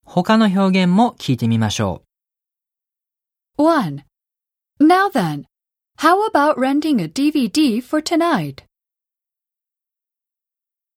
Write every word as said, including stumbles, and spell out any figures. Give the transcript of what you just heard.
他の表現も聞いてみましょ one. Now then, how about renting a D V D for tonight?